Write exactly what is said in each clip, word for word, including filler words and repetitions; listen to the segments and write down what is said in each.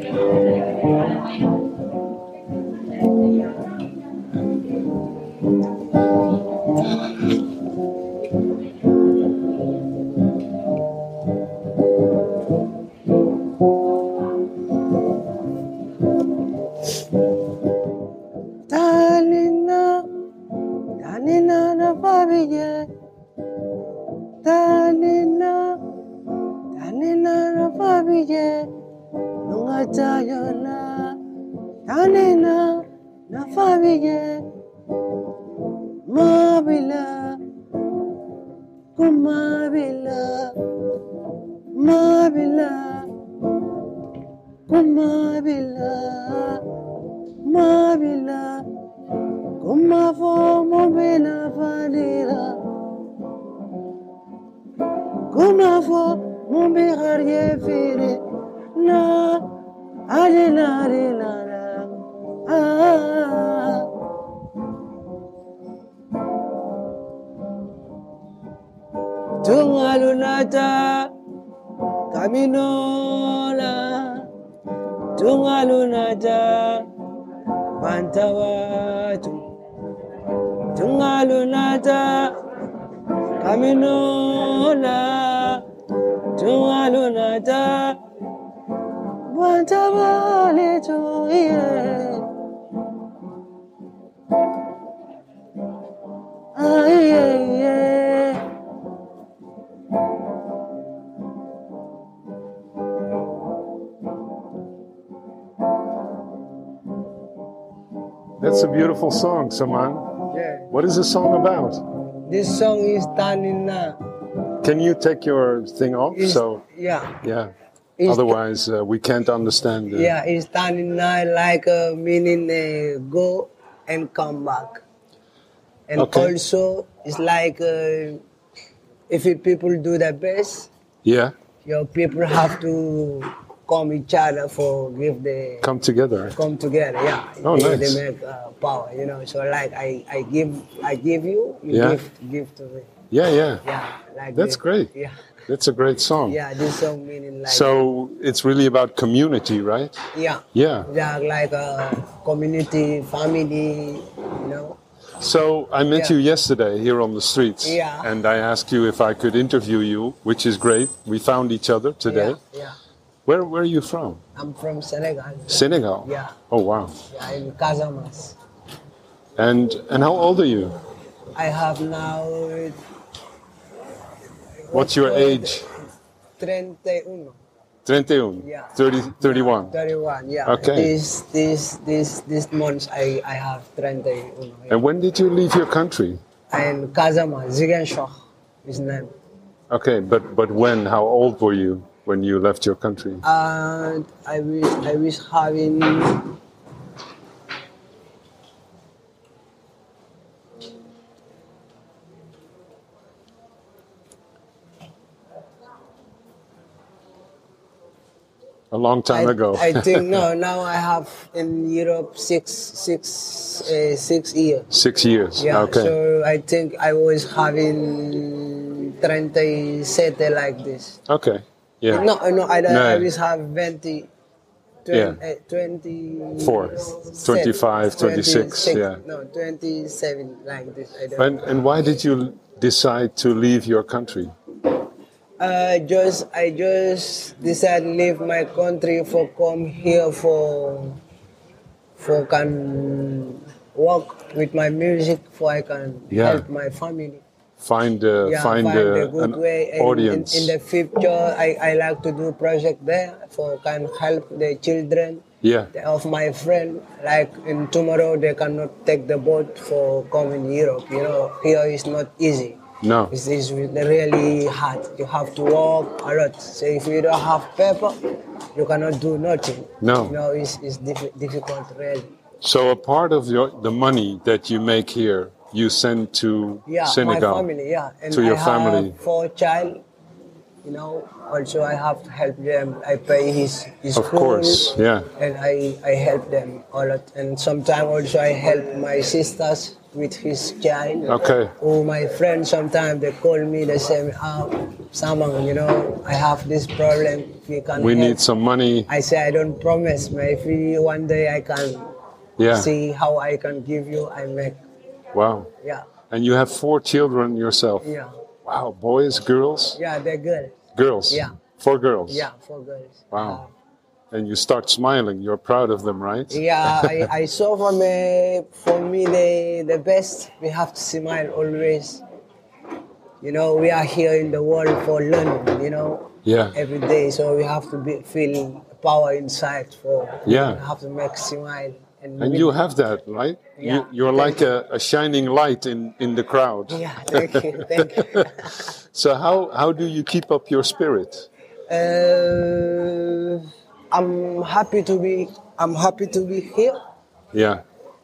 Tanina, Tanina na Fabiye, Tanina, Tanina na Fabiye, Nunga Tayona, Tanina na Fabiye, Mabila, Kumabila, Mabila, Kumabila, Mabila, Kumafo Mobina Fadila, Kumafo Mobihar Yefiri, Na, Adina, Adina, Ah. Tungalunata, Caminola, Tungalunata, Mantawatu, Tungalunata, Caminola, Tungalunata, Mantawatu, yeah. Ah, yeah, yeah. That's a beautiful song, Saman. Yeah. What is the song about? This song is Tanina. Can you take your thing off? Is, so yeah. yeah. It's Otherwise, uh, we can't understand. The... Yeah, it's Tanina like uh, meaning uh, go and come back. And Okay. also, it's like uh, if you people do their best, Yeah. your people have to come each other for give the Come together. come together. Yeah. Oh, they, nice. They make uh, power, you know. So like I, I give I give you, you Yeah. give give to me. Yeah, yeah. Yeah. Like That's this. great. Yeah. That's a great song. Yeah. This song meaning like So it's really about community, right? yeah. Yeah. Yeah, like a community, family, you know. So I met Yeah. you yesterday here on the streets, Yeah. and I asked you if I could interview you, which is great. We found each other today. Yeah, yeah. Where Where are you from? I'm from Senegal. Senegal. Yeah. Oh wow. Yeah, in Casamas. And and how old are you? I have now. What's your age? thirty-one. thirty-one. Yeah. thirty, thirty-one. thirty-one. Yeah. Okay. This this this this month I I have thirty-one. Yeah. And when did you leave your country? And Casamas, Ziguinchor, his name. Okay, but but when? How old were you when you left your country? And I wish I wish having. A long time I, ago. I think no. Now I have in Europe six six uh, six years. Six years. Yeah. Okay. So I think I was having thirty-seven like this. Okay. Yeah. No, no. I don't. No. I was have twenty. Yeah. twenty, uh, twenty Four. twenty-five, twenty-six, yeah. No, twenty-seven like this. I don't. And and why did you decide to leave your country? Uh, just I just decided to leave my country for come here for for can work with my music for I can Yeah. help my family. Find uh, Yeah, find, find uh, a good an way. And audience. In, in the future, I, I like to do project there for can help the children yeah. of my friend. Like in tomorrow, they cannot take the boat for coming Europe. You know, here is not easy. No. It's, it's really hard. You have to work a lot. So if you don't have paper, you cannot do nothing. No. You know, it's, it's diff- difficult really. So a part of your the money that you make here, you send to Yeah, Senegal. my family, yeah. And To your I family. have four child, you know. Also, I have to help them. I pay his, his Of school. course, yeah. And I, I help them a lot. And sometimes also I help my sisters with his child. Okay. Or my friends sometimes they call me, they say, oh, Samang, you know, I have this problem. If you can We help. need some money. I say I don't promise, but if you, one day I can Yeah. see how I can give you, I make. Wow. Yeah, And you have four children yourself. yeah, Wow. Boys, girls? yeah. They're good. Girls. Yeah. Four girls. Yeah, for girls. Wow. And you start smiling. You're proud of them, right? Yeah, I, I saw from uh, for me the the best. We have to smile always. You know, we are here in the world for learning. You know, Yeah. every day. So we have to be, feel power inside. For Yeah. we have to make smile. And, And we- you have that, right? Yeah. You, you're like a, a shining light in, in the crowd. Yeah, thank you, thank you. So how, how do you keep up your spirit? Uh, I'm happy to be. I'm happy to be here. Yeah.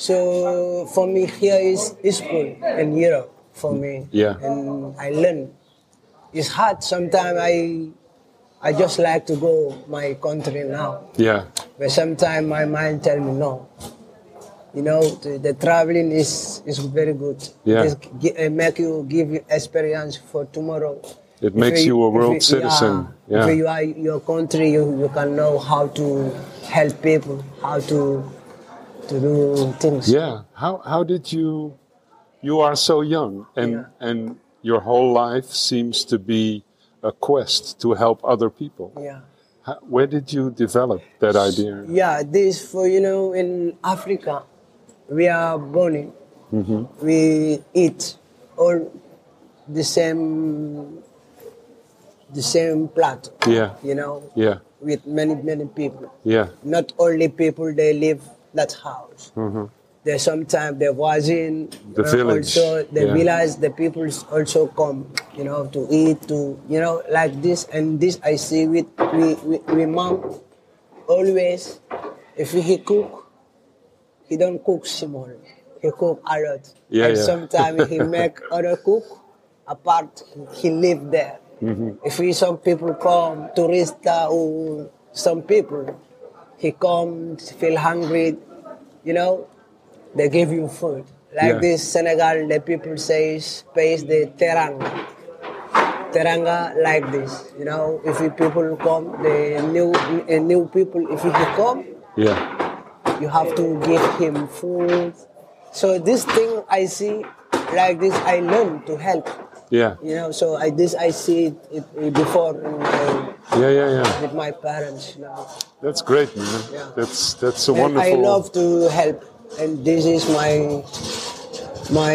So for me, here is is school in Europe for me. Yeah. And I learn. It's hard sometimes. I I just like to go my country now, Yeah. but sometimes my mind tell me no. You know, the, the traveling is is very good. Yeah. It gi- uh, make you give you experience for tomorrow. It If makes you a if world citizen. Yeah, Yeah. If you are your country, you, you can know how to help people, how to to do things. Yeah. How, how did you, you are so young and, Yeah. and your whole life seems to be a quest to help other people. Yeah. How, where did you develop that idea? Yeah, this for you know in Africa, we are born in, Mm-hmm. we eat all the same the same plate. Yeah. You know, Yeah. with many many people. Yeah. Not only people they live that house. Mm-hmm. There's sometimes the voisin, The uh, village, also the yeah. village, the people also come, you know, to eat, to you know, like this and this. I see with we we, we mom always, if he cook, he don't cook small, he cook a lot. Yeah, and yeah. sometimes he make other cook apart. He, he live there. Mm-hmm. If we some people come tourist uh, or some people, he come feel hungry, you know. They give you food. Like Yeah. this Senegal, the people say space the teranga. Teranga like this, you know. If you people come, the new uh, new people, if you come, Yeah. you have to give him food. So this thing I see, like this, I learn to help. Yeah. You know, so I this I see it, it, it before in my, Yeah. Yeah. Yeah. with my parents. You know. That's great, man. Yeah. That's that's a And wonderful. I love to help, and this is my my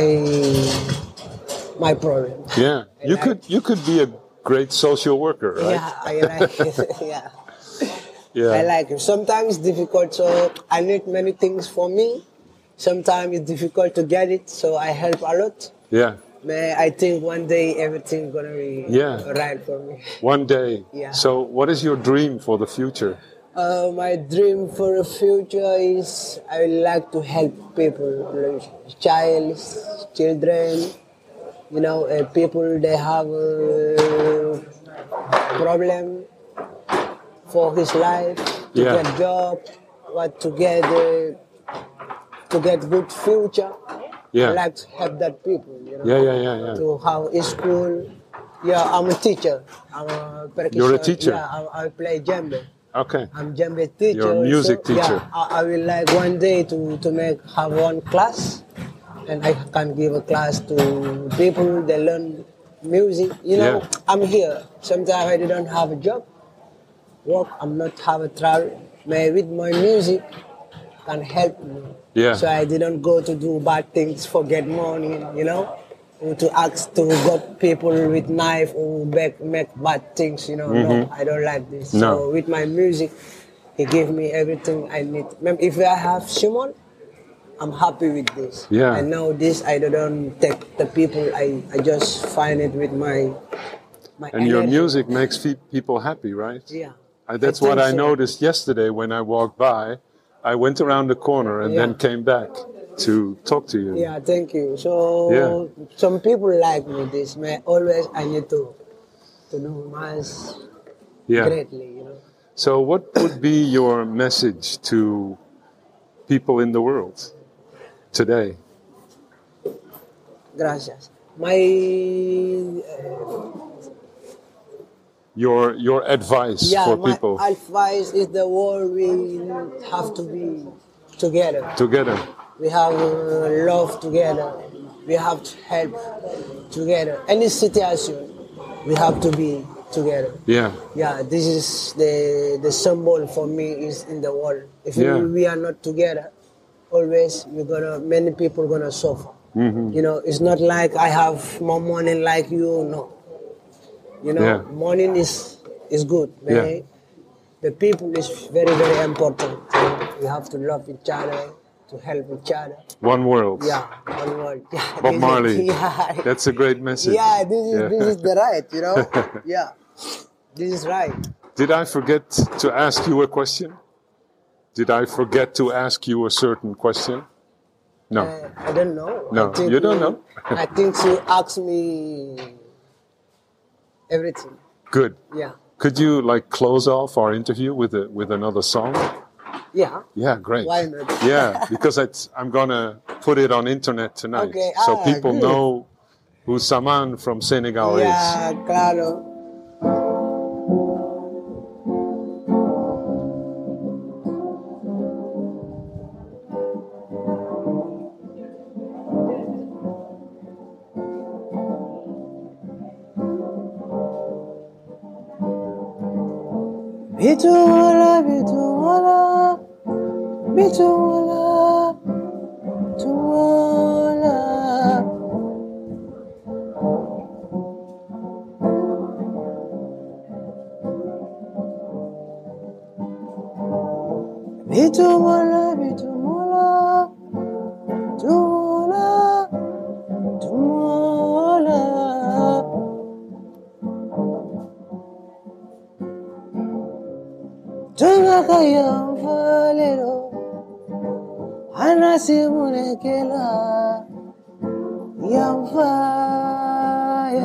my problem. Yeah. You like- could you could be a great social worker, right? Yeah, I like it. yeah. Yeah. I like it. Sometimes it's difficult, so I need many things for me. Sometimes it's difficult to get it, so I help a lot. Yeah. But I think one day everything's gonna be Yeah. right for me. One day. Yeah. So, what is your dream for the future? Uh, my dream for the future is I would like to help people, like child, children, you know, uh, people they have a problem for his life, to Yeah. get job, what to get uh, to get good future. Yeah. I like to help that people, you know, Yeah, yeah, yeah, yeah. to have a school. Yeah, I'm a teacher. I'm a percussion. You're a teacher? Yeah, I, I play djembe. Okay. I'm djembe teacher. You're a music so, teacher. Yeah, I, I will like one day to, to make have one class, and I can give a class to people that learn music. You know, Yeah. I'm here. Sometimes I don't have a job, work. I'm not have a travel. Maybe with my music can help me. Yeah. So I didn't go to do bad things for get money. You know. Or to ask to got people with knife or make, make bad things, you know. No, I don't like this. No. So with my music, he gave me everything I need. Mem- If I have Simon, I'm happy with this. Yeah. And now this, I don't take the people. I, I just find it with my my. And your energy. music makes fe- people happy, right? Yeah. Uh, that's I what think I so. noticed yesterday when I walked by. I went around the corner and Yeah. then came back to talk to you. Yeah, thank you. So Yeah. some people like me this. Man, always I need to to know mass Yeah. greatly, you know. So, what would be your message to people in the world today? Gracias. My uh, Your your advice yeah, for my people advice is the world we have to be together. together. We have uh, love together. We have to help together. Any situation, we have to be together. Yeah. Yeah, this is the the symbol for me is in the world. If Yeah. we, we are not together, always we're gonna many people gonna suffer. Mm-hmm. You know, it's not like I have more money like you. No, you know, Yeah. money is is good, but Yeah. the people is very very important. We have to love each other, to help each other. One world. Yeah, one word. Yeah, Bob this is- Marley. Yeah, That's a great message. yeah, this is Yeah. this is the right, you know. Yeah, this is right. Did I forget to ask you a question? Did I forget to ask you a certain question? No. Uh, I don't know. No, I think you don't know? I think you asked me everything. Good. Yeah, Could you like close off our interview with a, with another song? yeah. Yeah, great. Why not? Yeah, because it's, I'm gonna put it on internet tonight, Okay, so ah, people good. know who Saman from Senegal is. Yeah, claro. Bitumala, bitumala, bitumala, bitumala. Bitumala, bitumala, bitumala, bitumala. Tunga kaya valero, anasi munekela, yamfaye.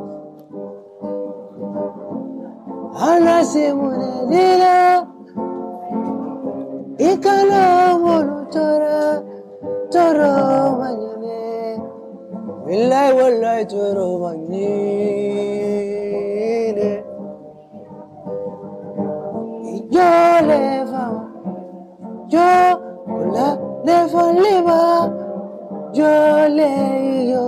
Anasi munelila, ikala monu tora, toro manyene, willai wallai toro manyene. Yo le fama, yo la le faliba, yo le yo.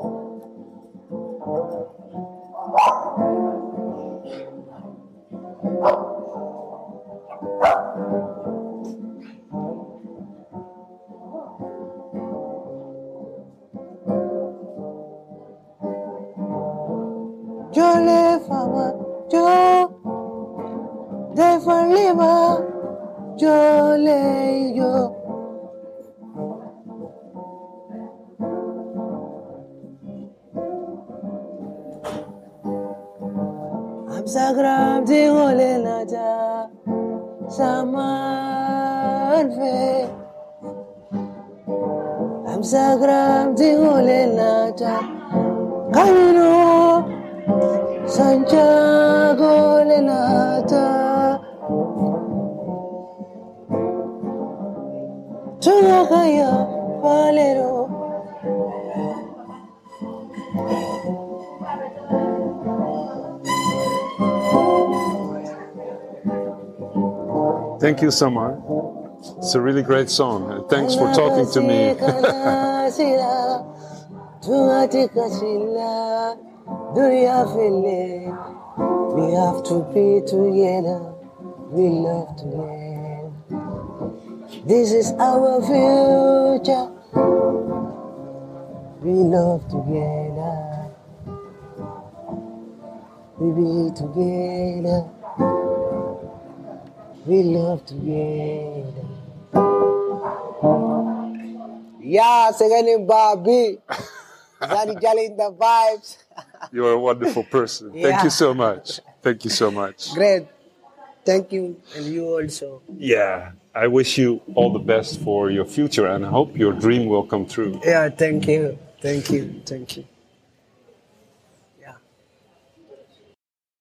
Yo le fama, yo de faliba, yo le yo. I'm sagram di ole naja, saman fe. I'm sagram di ole naja, camino Santiago le nata. Tunga kaya valero. Thank you, Samar. It's a really great song, and thanks for talking to me. We have to be together. We love together. This is our future. We love together. We be together. We love together. Yeah, singing Bobby. Zani Jali in the vibes. You're a wonderful person. Thank Yeah. you so much. Thank you so much. Great. Thank you, and you also. Yeah, I wish you all the best for your future, and I hope your dream will come true. Yeah, thank you. Thank you. Thank you.